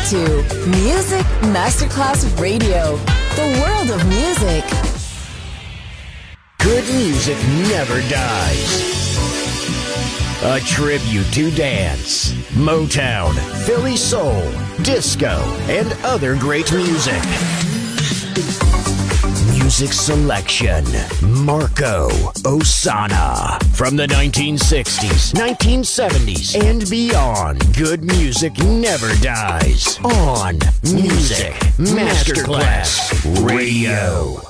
to Music Masterclass Radio, the world of music. Good music never dies. A tribute to dance, Motown, Philly soul, disco, and other great music. Music selection, Marco Ossanna. From the 1960s, 1970s, and beyond, good music never dies. On Music Masterclass Radio.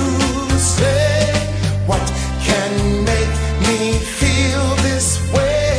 What can make me feel this way?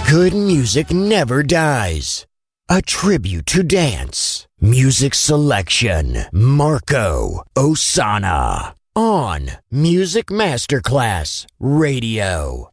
Good music never dies. A tribute to dance. Music selection, Marco Ossanna. On Music Masterclass Radio.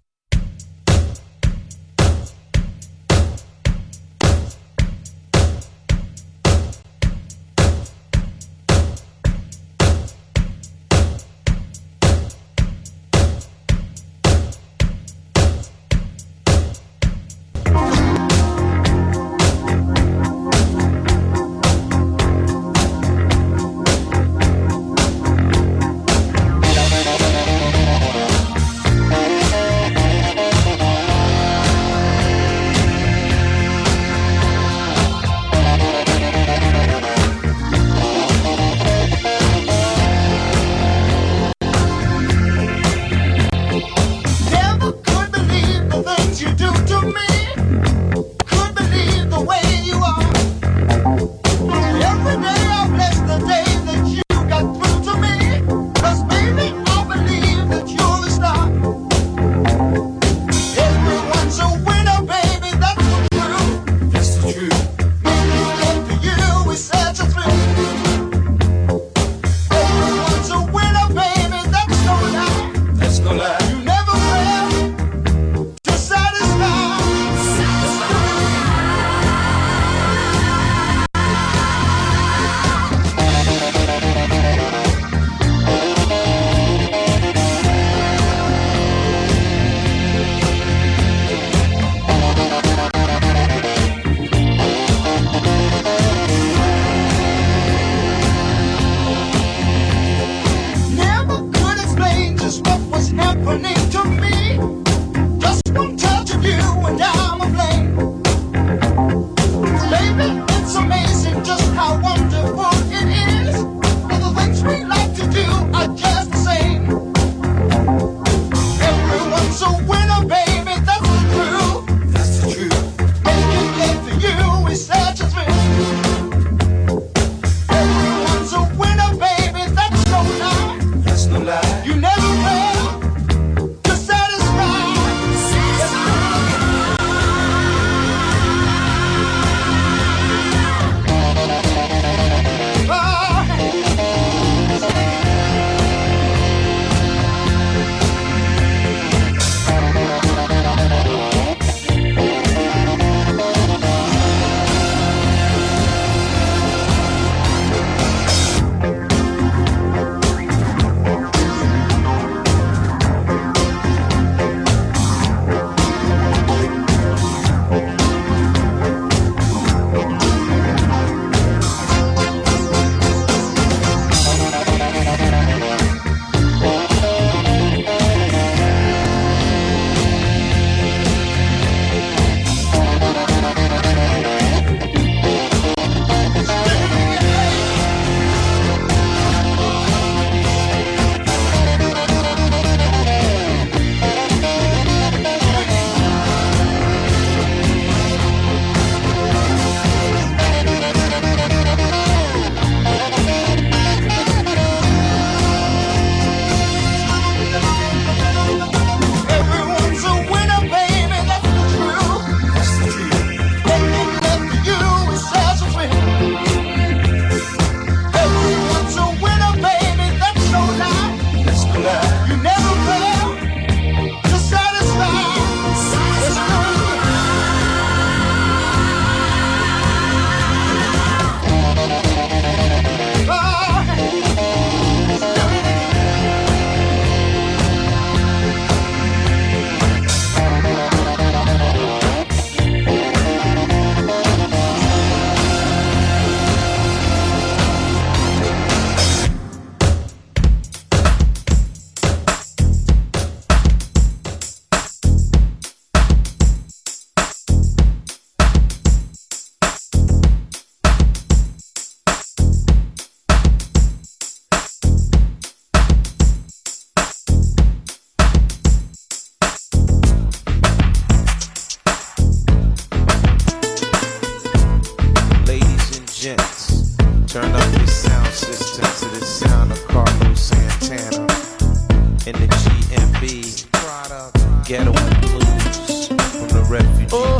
Turn up your sound system to the sound of Carlos Santana in the GMB Ghetto and Blues from the Refugees.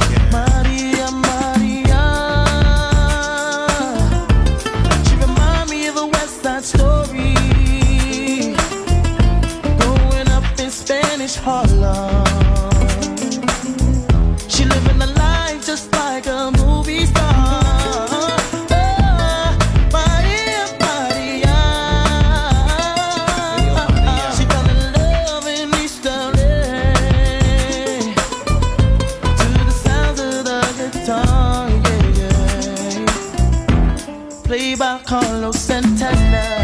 Spanish Harlem. She living a life just like a movie star. She fell in love in East LA to the sounds of the guitar, yeah, yeah. Played by Carlos Santana.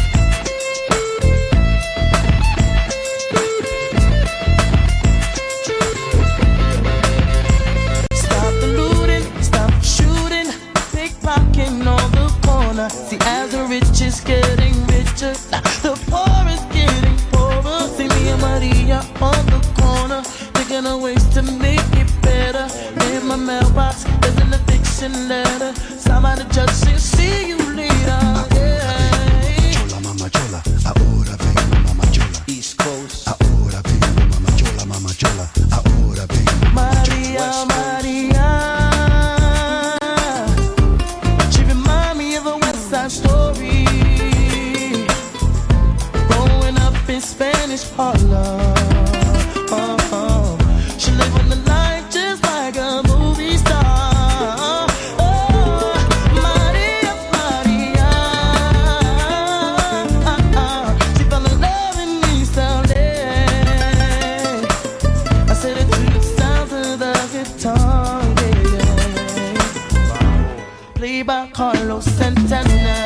See, as the rich is getting richer, the poor is getting poorer. See me and Maria on the corner, thinking of ways to make it better. In my mailbox, there's an eviction letter. Signed by the judge saying, see you later. Yeah. Chola, mama chola, ahora vengo, mama chola. East Coast. Ahora vengo, mama chola, mama chola. Ahora vengo, mama chola. Maria, Maria. Story growing up in Spanish Harlem. She living the life just like a movie star. Maria, Maria. She fell in love in East LA. I said it to the sounds of the guitar, yeah. Played by Carlos Santana.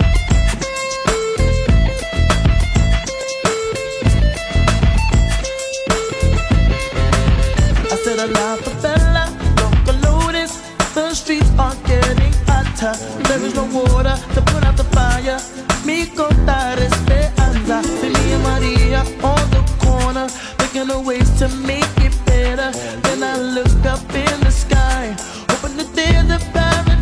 La favela, Locomotives, the streets are getting hotter. There is no water to put out the fire. Mi contar esperanza. See me and Maria on the corner, thinking of ways to make it better. Then I look up in the sky, hoping that there's a paradise.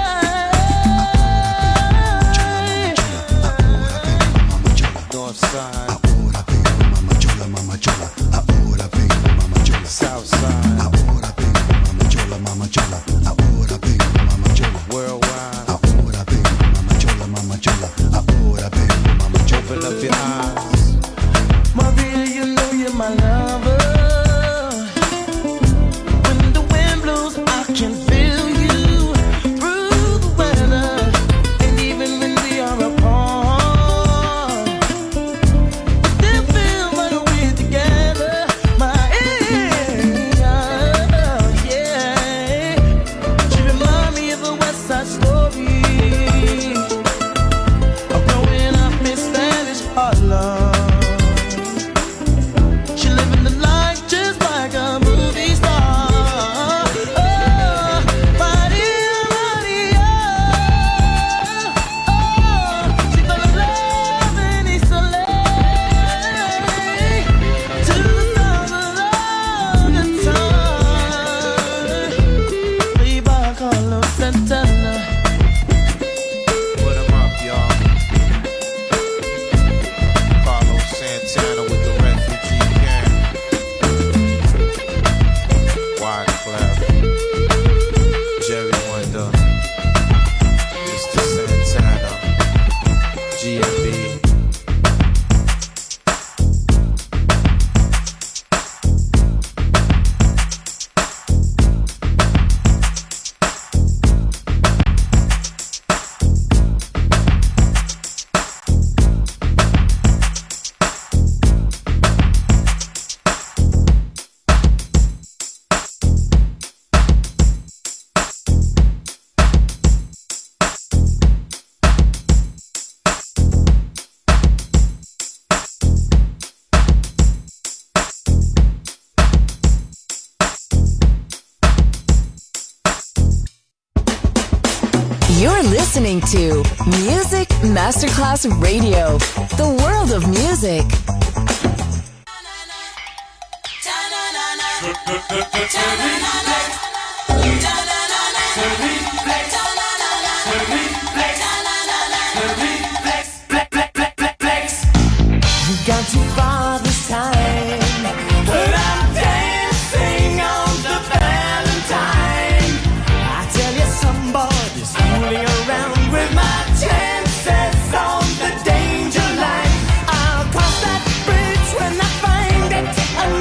North side. Ahora vengo, mama chola, mama chola. Ahora vengo, mama chola. South side. Ahora vengo, mama chola, mama chola. Ahora vengo, mama chola. Worldwide. Ahora vengo, mama chola, mama chola. Ahora vengo, mama chola. Open up your eyes. Maria, you know you're my lover. When the wind blows, I can feel you through the weather. And even when we are apart, I still feel like we're together. My yeah. She remind me of a West Side Story. Of growing up in Spanish Harlem. She living the life just like a movie star. Oh, Maria, Maria. Oh, she fell in love in East LA to the sound of the guitar. Played by Carlos Santana. Put 'em up, y'all. Carlos Santana with the refugee camp. Wyclef, Jerry Wonder, Mr. Santana, GMB. You're listening to Music Masterclass Radio, the world of music. You got too far this time, but I'm dancing on the Valentine. I tell you, somebody's fooling around with my chances on the danger line. I'll cross that bridge when I find it.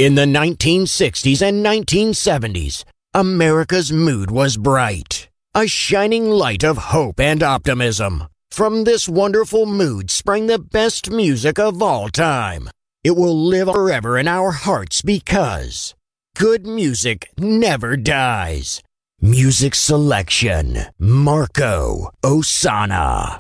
In the 1960s and 1970s, America's mood was bright, a shining light of hope and optimism. From this wonderful mood sprang the best music of all time. It will live forever in our hearts because good music never dies. Music selection, Marco Ossanna.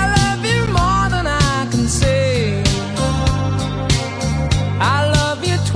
I love you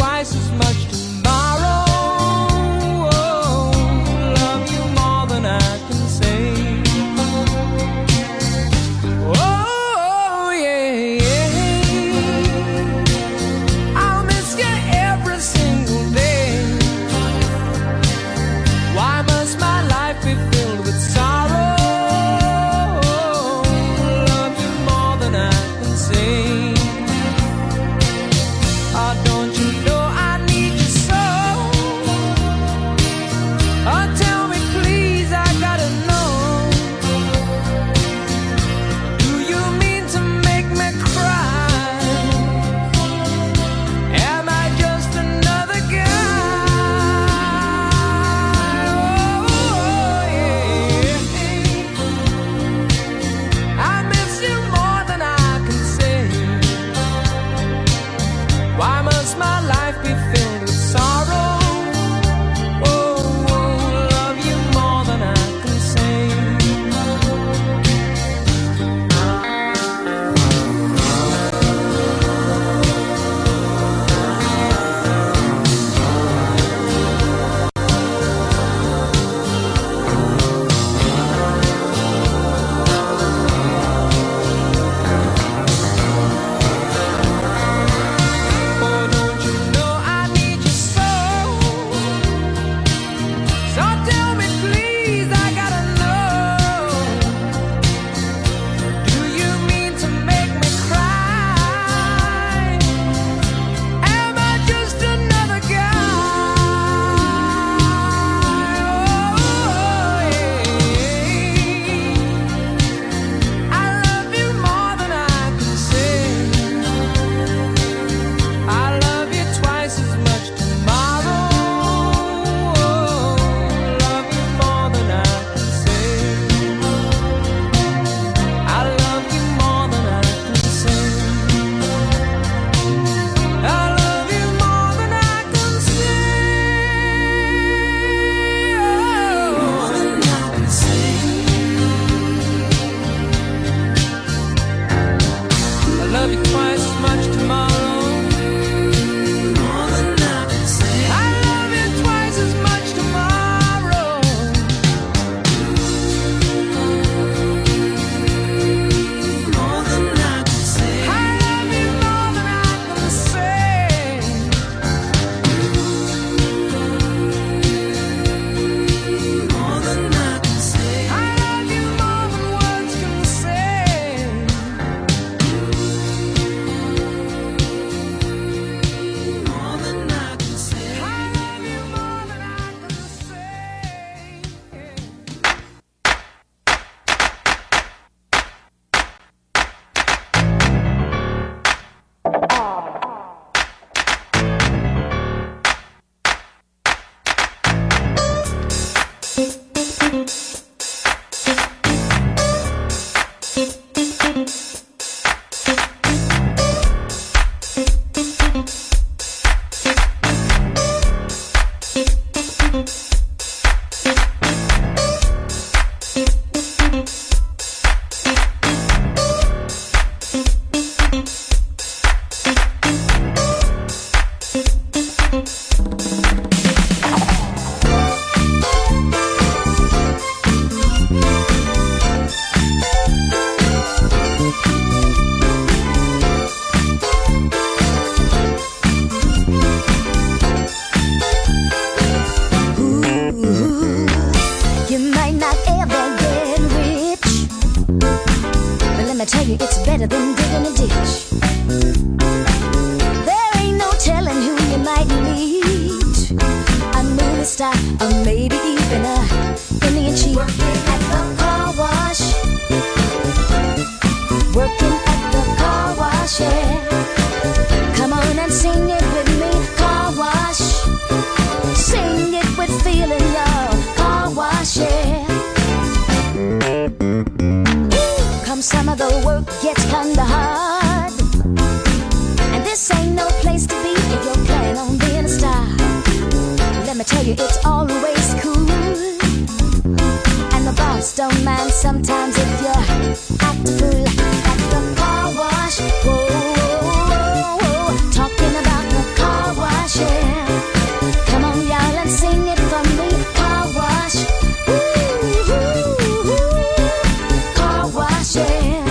you it's always cool. And the boss don't mind sometimes if you act a fool at the car wash. Whoa, whoa, whoa, talking about the car wash, yeah. Come on, y'all, and sing it for me. Car wash, ooh, ooh, ooh. Car wash, yeah.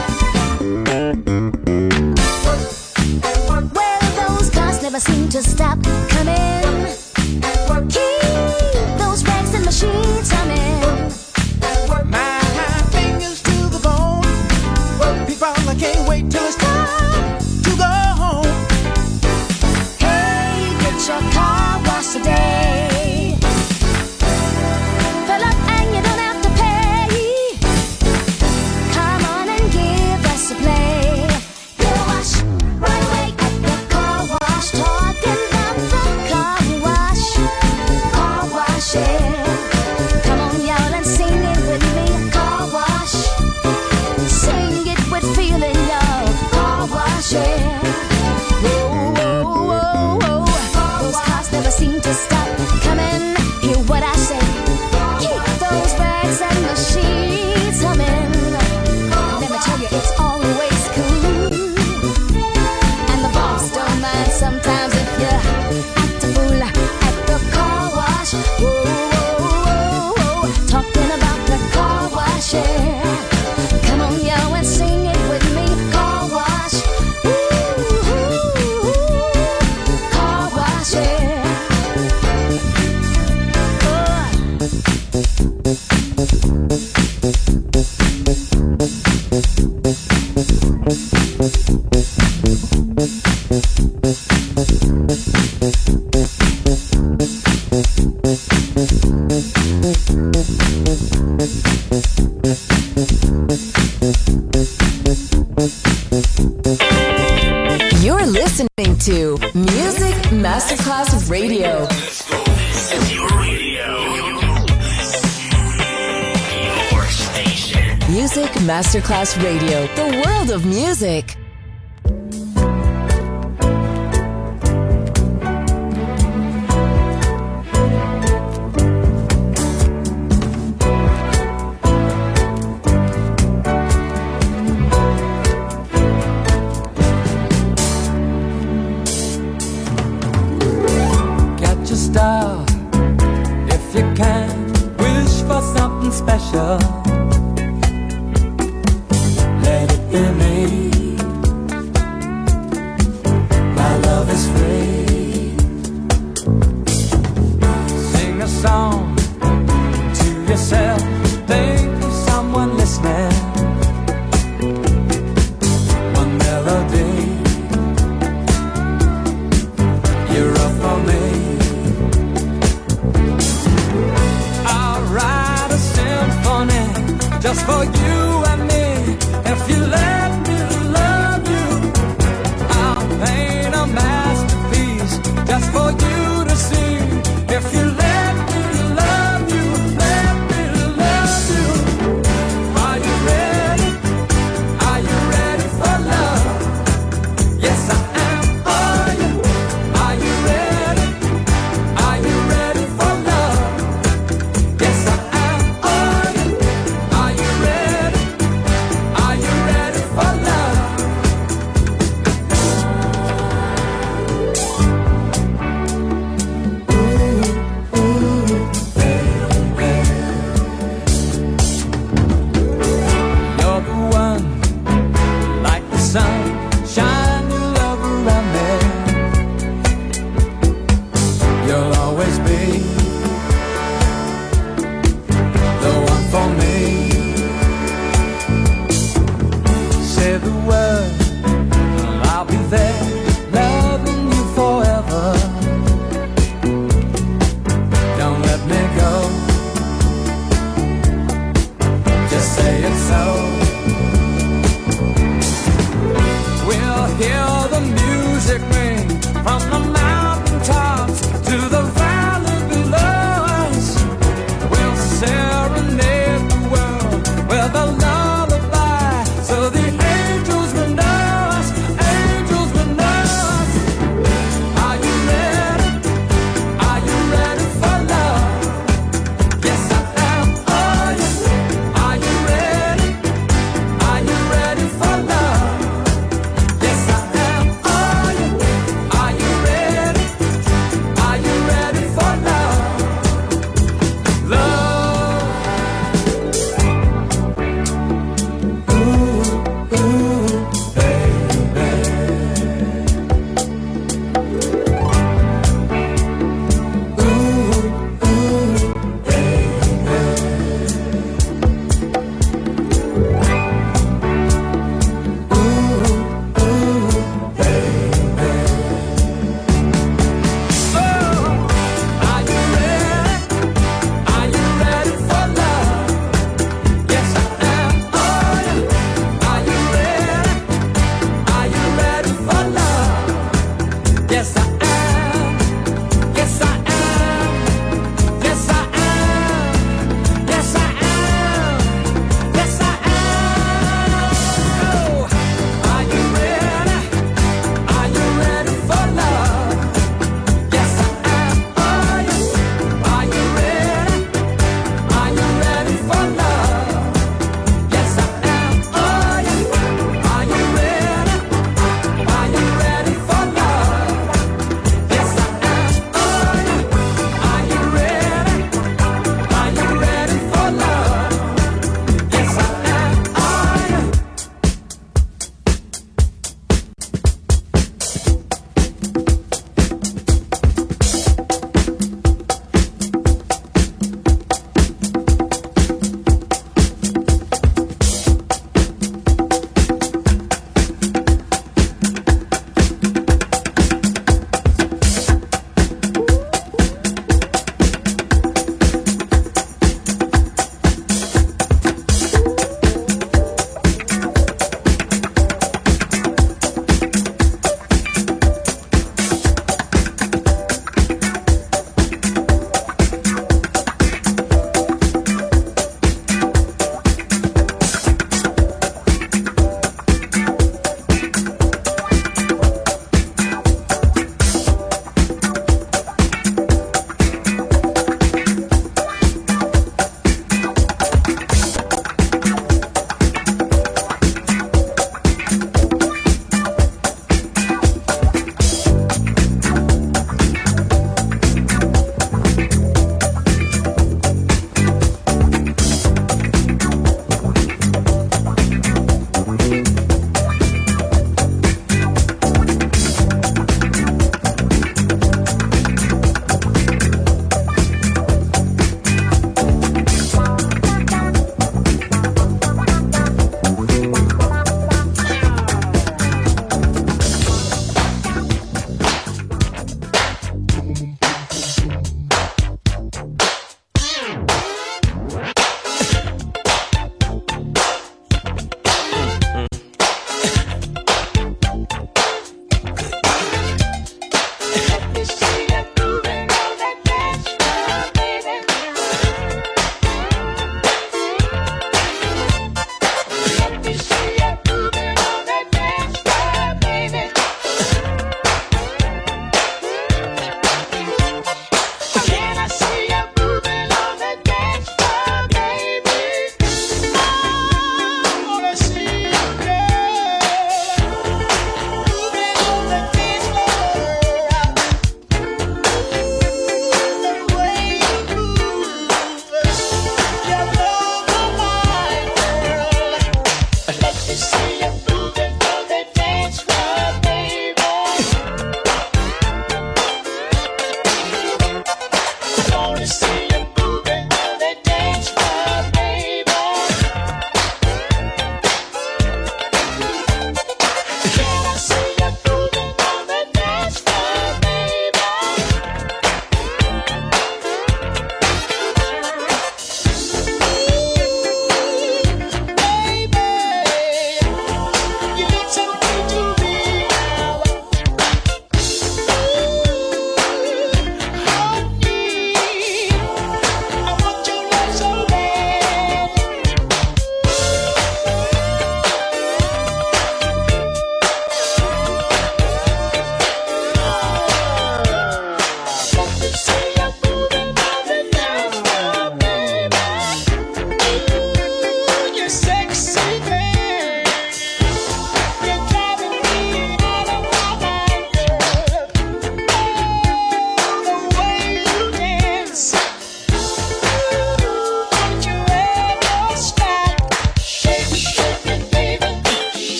Well, those cars never seem to stop coming. Keep those rags and machines humming. My fingers to the bone. People, I can't wait till it's time to go home. Hey, get your car washed today. Fill up and you don't have to pay. Come on and give us a play. Get a wash right away at the car wash. Talking about the car wash. Car wash, yeah. Come on, y'all, and sing it with me. Car wash. Sing it with feeling, y'all. Car wash, yeah. Whoa, whoa, whoa, whoa. Those cars never seem to stop coming. Hear what I say. Keep those rags and machines humming. Let me tell you, it's always cool. And the boss don't mind sometimes if you act a fool at the car wash. Whoa, whoa, whoa, talking about the car wash, yeah. Come on, yo, and sing it with me. Car wash, ooh, ooh, ooh. Car wash, yeah. You're listening to Music Masterclass Radio. Your radio. Your station. Music Masterclass Radio, the world of music. Get your style if you can. Wish for something special. Let it be me. My love is free. Sing a song to yourself. Think of someone listening. One melody. You're up for me. I'll write a symphony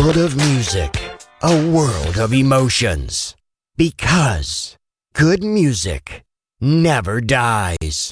world of music, a world of emotions. Because good music never dies.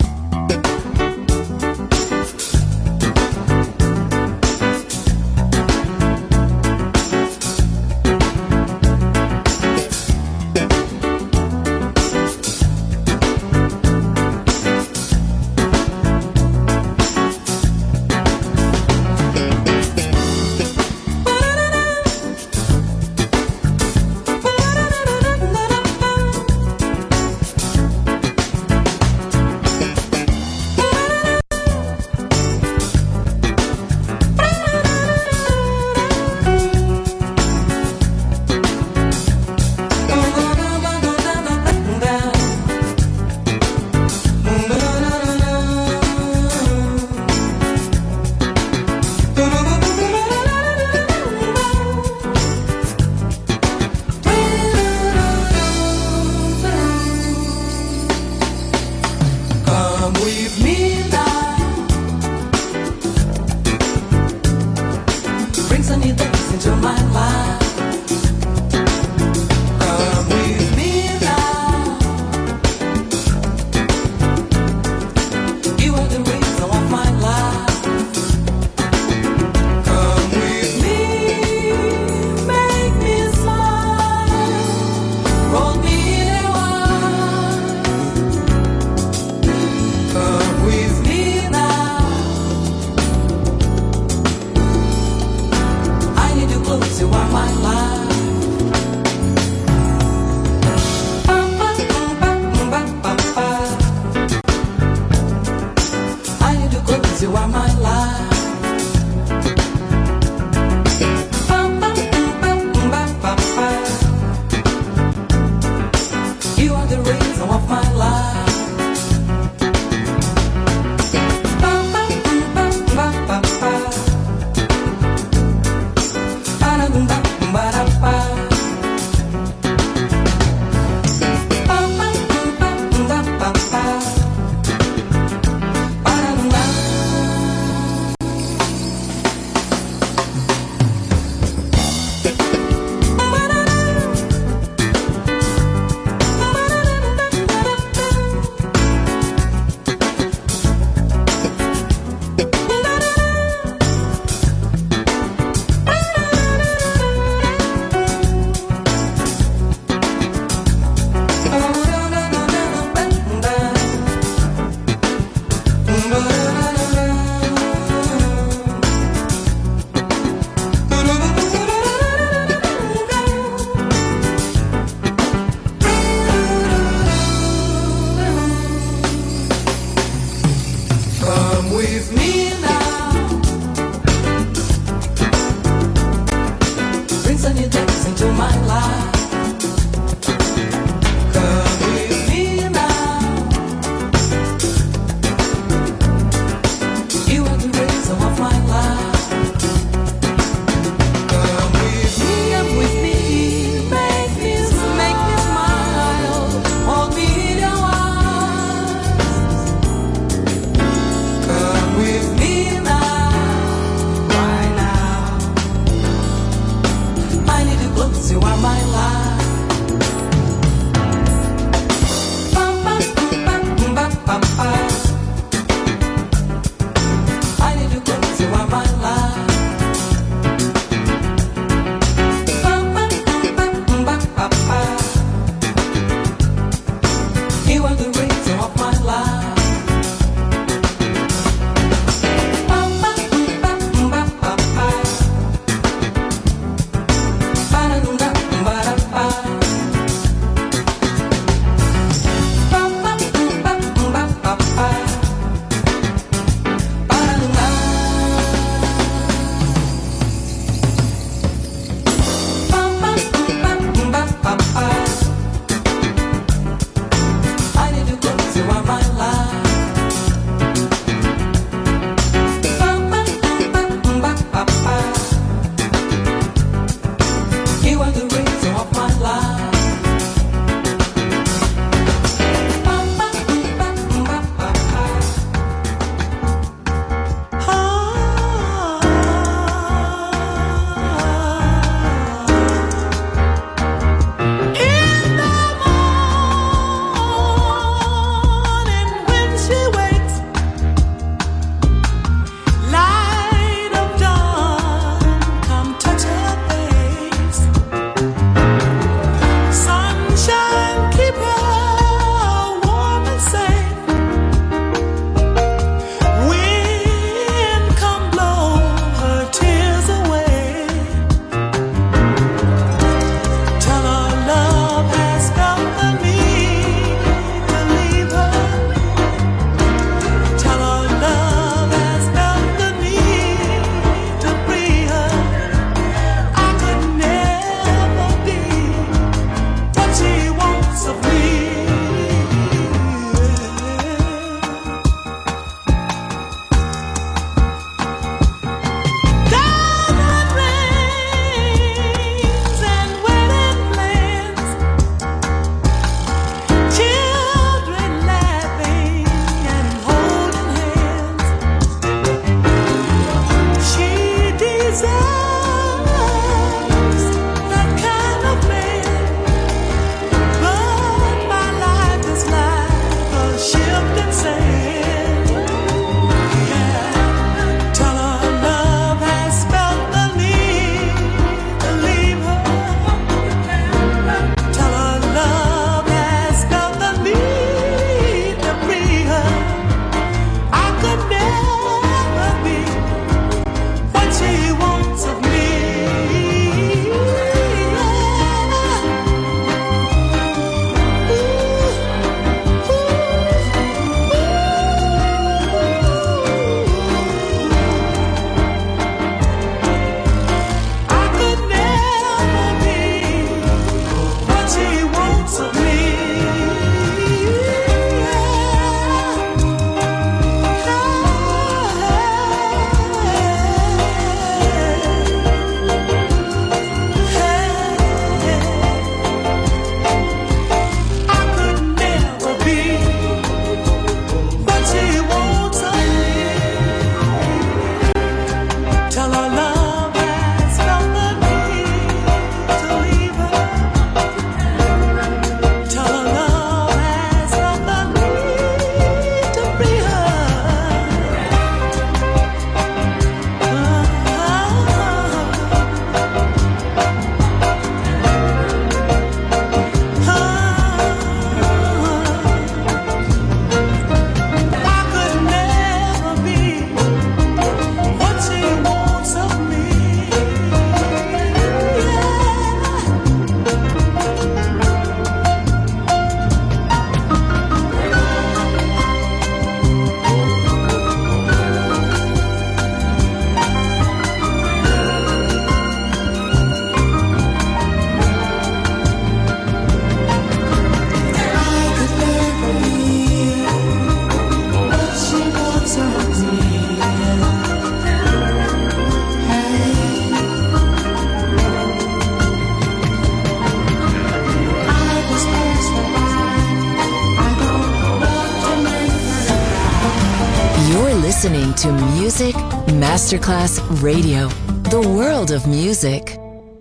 listening to Music Masterclass Radio, the world of music.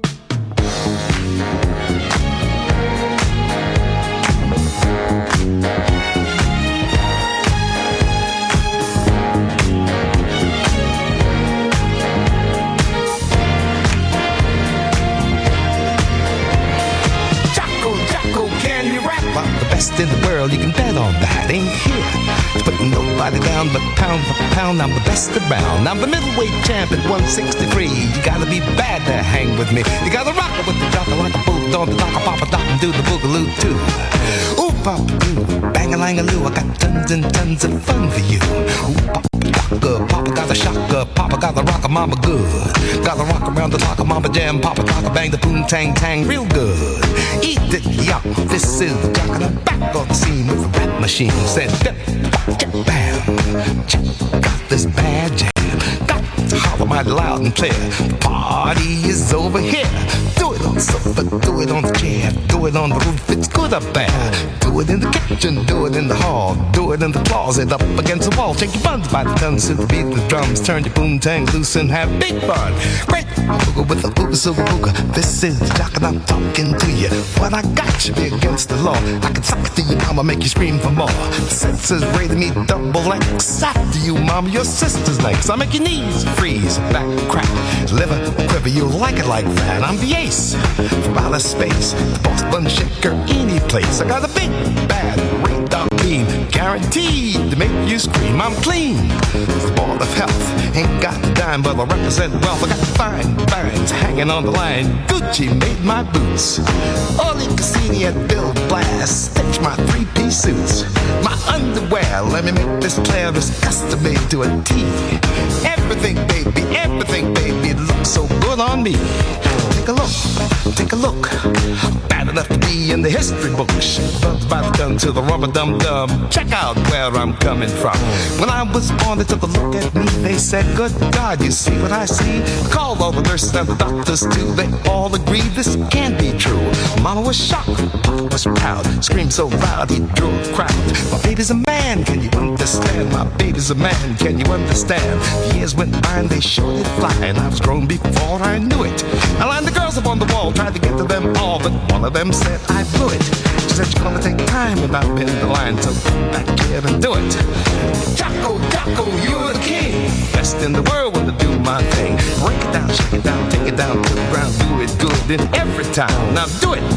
In the world, you can bet on that. Ain't here to put nobody down, but pound for pound, I'm the best around. I'm the middleweight champ at 163. You gotta be bad to hang with me. You gotta rock it with the jocker like a boot on the dock, a papa dock, and do the boogaloo too. Ooh, papa doo, bang-a-lang-a-loo, I got tons and tons of fun for you. Ooh, papa doctor, papa got a shocker, papa got the rocker, mama good. Gotta rock around the clock, mama jam, papa clock, bang the boom tang tang real good. Eat it, yuck, this is the jock, and I'm back on the scene with the rap machine. Said, bam, got this bad jam. Got to holler mighty loud and clear. The party is over here. Do it on the sofa, do it on the chair, do it on the roof, it's good up there. Do it in the kitchen, do it in the hall, do it in the closet, up against the wall. Shake your buns by the tons to the beat of the drums. Turn your boomtang loose and have big fun. Great booga with the booga suga booga. This is the jock and I'm talking to you. What I got should be against the law. I can suck it to you, mama, make you scream for more. The senses rated me double X. After you, mama, your sister's next. I make your knees freeze, back crack, liver quiver. You like it like that. I'm the ace from outer space, the boss bun shaker any place. I got a big bad radar beam, guaranteed to make you scream. I'm clean, the ball of health. Ain't got a dime, but I represent wealth. I got fine vines hanging on the line. Gucci made my boots. Oli Cassini at Bill Blast stitch my three-piece suits. My underwear, let me make this clear, is custom made to a T. Everything, baby, it looks so good on me. Take a look. Bad enough to be in the history books. Bugs by the gun to the rubber dum dum. Check out where I'm coming from. When I was born, they took a look at me. They said, good God, you see what I see? I called all the nurses and the doctors too. They all agreed this can't be true. Mama was shocked, Papa was proud. Screamed so loud he drew a crowd. My baby's a man, can you understand? My baby's a man, can you understand? The years went by and they showed it fly, and I was grown before I knew it. I lined the girls up on the wall, tried to get to them all, but one of them said I blew it. She said you're gonna take time, and I've been the line, so come back here and do it. Jocko, you're the king, best in the world when I do my thing. Break it down, shake it down, take it down to the ground, do it good in every time. Now do it,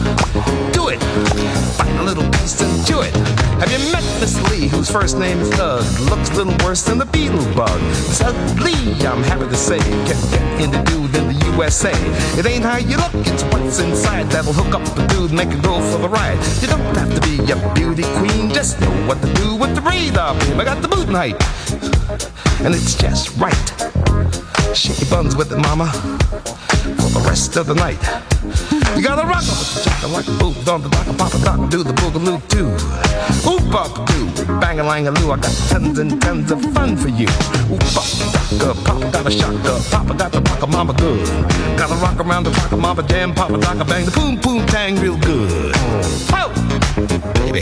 find a little piece and chew it. Have you met Miss Lee, whose first name is Doug? Looks a little worse than the beetle bug. Doug Lee, I'm happy to say, can't get into dude in the USA. It ain't how you look, it's what's inside that'll hook up the dude, make it go for the ride. You don't have to be a beauty queen, just know what to do with the radar beam. I got the boot height, and it's just right. Shake your buns with it, mama, for the rest of the night. You gotta rock up with the jocker like a boot on the dock, a papa dock, do the boogaloo too. Ooh, papa doo, bang-a-lang-a-loo, I got tons and tons of fun for you. Ooh, papa got a shocker, papa got the rocker, mama good. Gotta rock around the rocker, mama jam, papa docker, bang the boom boom tang real good. Oh, baby.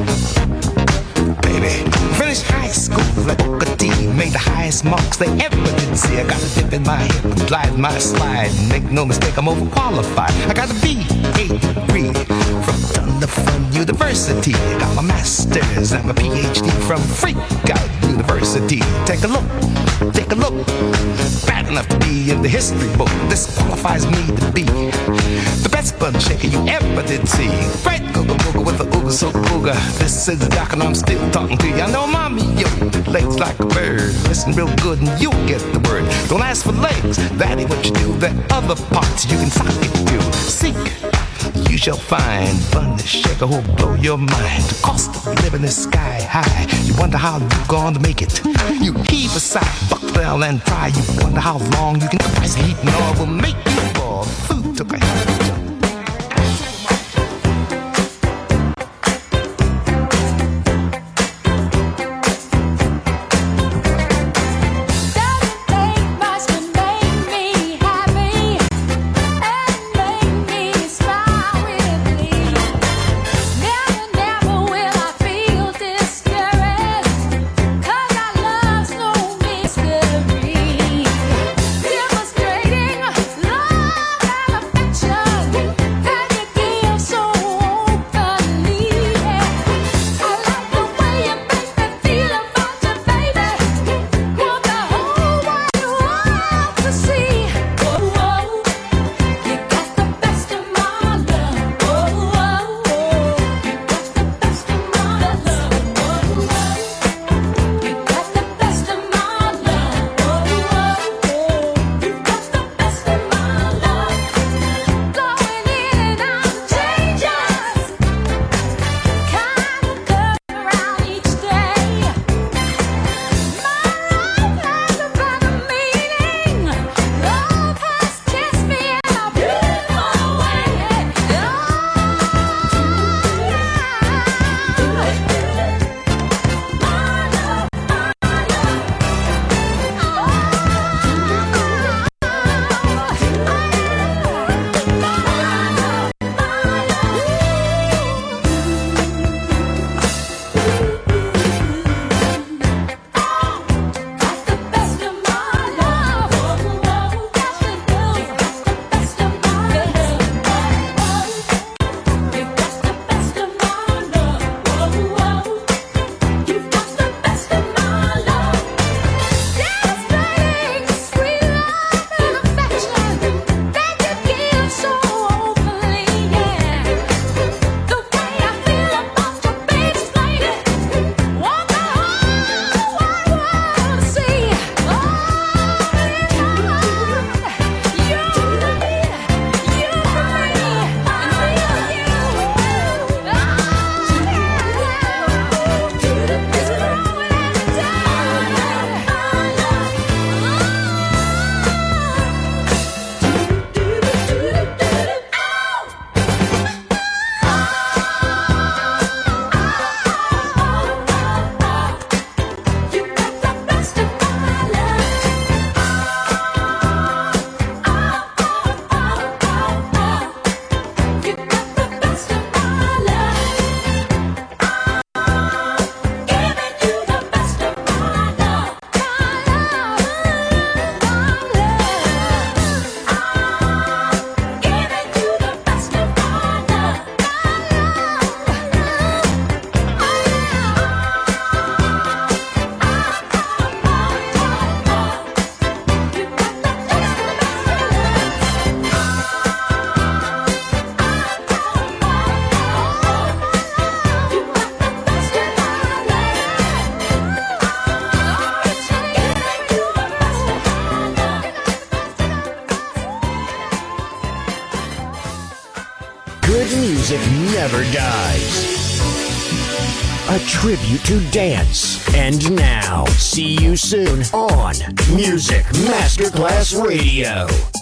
Finished high school like Booker T, made the highest marks they ever did see. I got a dip in my hip and glide my slide. Make no mistake, I'm overqualified. I got a B.A. degree from Thunder Fun University. I got my master's and my PhD from Freak Out University. Take a look. Bad enough to be in the history book. This qualifies me to be the best bun shaker you ever did see. Right, googa booga with the ooga so ooga. This is the doc and I'm still talking to you. I know mommy, yo, legs like a bird. Listen real good and you'll get the word. Don't ask for legs, that ain't what you do. There are other parts you can sock it to. Seek, you shall find fun to shaker who'll blow your mind. The cost of living is sky high. You wonder how you're going to make it. You heave aside, buckle down and try. You wonder how long you can price heat and all will make you fall. Food took a hit. Never will I feel discouraged, 'cause our love's no music never dies. A tribute to dance. And now, see you soon on Music Masterclass Radio.